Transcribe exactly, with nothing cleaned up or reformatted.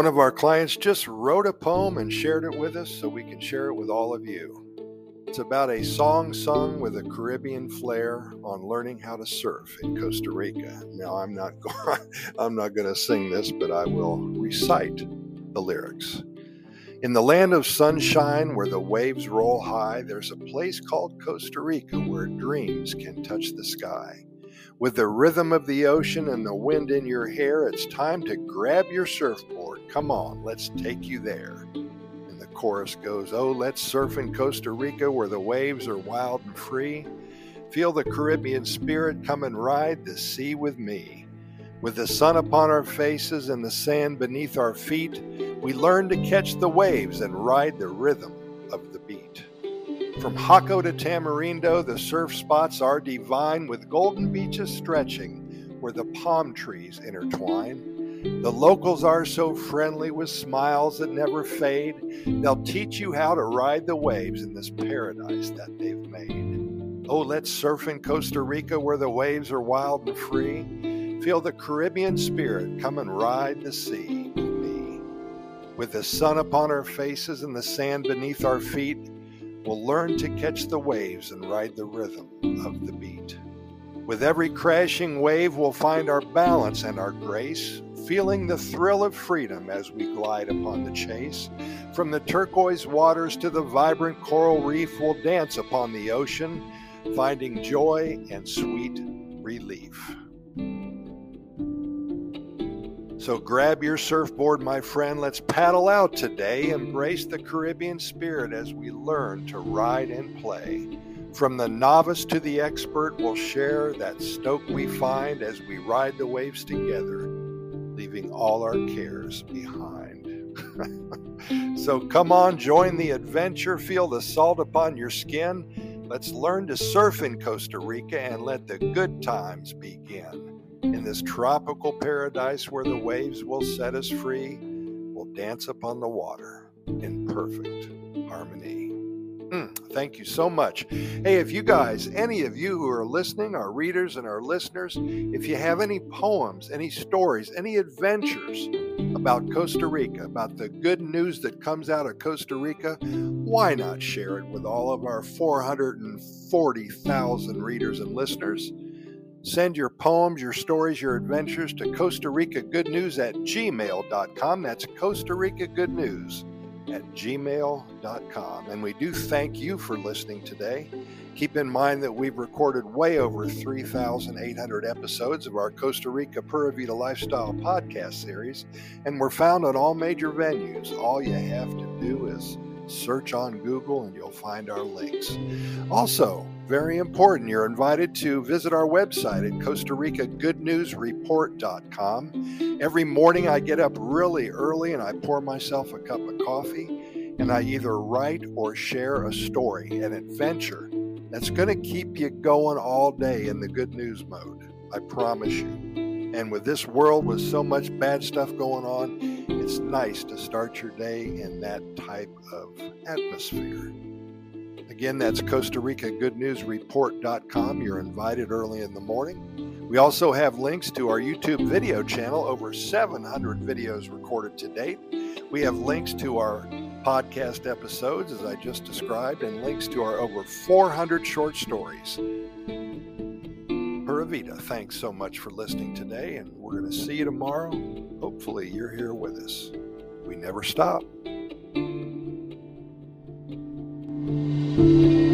One of our clients just wrote a poem and shared it with us so we can share it with all of you. It's about a song sung with a Caribbean flair on learning how to surf in Costa Rica. Now, I'm not going, I'm not going to sing this, but I will recite the lyrics. In the land of sunshine where the waves roll high, there's a place called Costa Rica where dreams can touch the sky. With the rhythm of the ocean and the wind in your hair, it's time to grab your surfboard. Come on, let's take you there. And the chorus goes, oh, let's surf in Costa Rica where the waves are wild and free. Feel the Caribbean spirit, come and ride the sea with me. With the sun upon our faces and the sand beneath our feet, we learn to catch the waves and ride the rhythm of the beat. From Jaco to Tamarindo, the surf spots are divine, with golden beaches stretching where the palm trees intertwine. The locals are so friendly with smiles that never fade. They'll teach you how to ride the waves in this paradise that they've made. Oh, let's surf in Costa Rica where the waves are wild and free. Feel the Caribbean spirit, come and ride the sea with me. With the sun upon our faces and the sand beneath our feet, we'll learn to catch the waves and ride the rhythm of the beat. With every crashing wave, we'll find our balance and our grace, feeling the thrill of freedom as we glide upon the chase. From the turquoise waters to the vibrant coral reef, we'll dance upon the ocean, finding joy and sweet relief. So grab your surfboard, my friend. Let's paddle out today. Embrace the Caribbean spirit as we learn to ride and play. From the novice to the expert, we'll share that stoke we find as we ride the waves together, leaving all our cares behind. So come on, join the adventure. Feel the salt upon your skin. Let's learn to surf in Costa Rica and let the good times begin. In this tropical paradise where the waves will set us free, we'll dance upon the water in perfect harmony. Mm, thank you so much. Hey, if you guys, any of you who are listening, our readers and our listeners, if you have any poems, any stories, any adventures about Costa Rica, about the good news that comes out of Costa Rica, why not share it with all of our four hundred forty thousand readers and listeners? Send your poems, your stories, your adventures to Costa Rica Good News at gmail dot com. That's Costa Rica Good News at gmail dot com. And we do thank you for listening today. Keep in mind that we've recorded way over three thousand eight hundred episodes of our Costa Rica Pura Vida Lifestyle podcast series, and we're found on all major venues. All you have to do is search on Google and you'll find our links. Also, very important, you're invited to visit our website at Costa Rica Good News Report dot com. Every morning I get up really early and I pour myself a cup of coffee and I either write or share a story, an adventure that's going to keep you going all day in the good news mode. I promise you. And with this world with so much bad stuff going on, it's nice to start your day in that type of atmosphere. Again, that's Costa Rica Good News Report dot com. You're invited early in the morning. We also have links to our YouTube video channel, over seven hundred videos recorded to date. We have links to our podcast episodes, as I just described, and links to our over four hundred short stories. Pura Vida, thanks so much for listening today, and we're going to see you tomorrow. Hopefully you're here with us. We never stop. Thank you.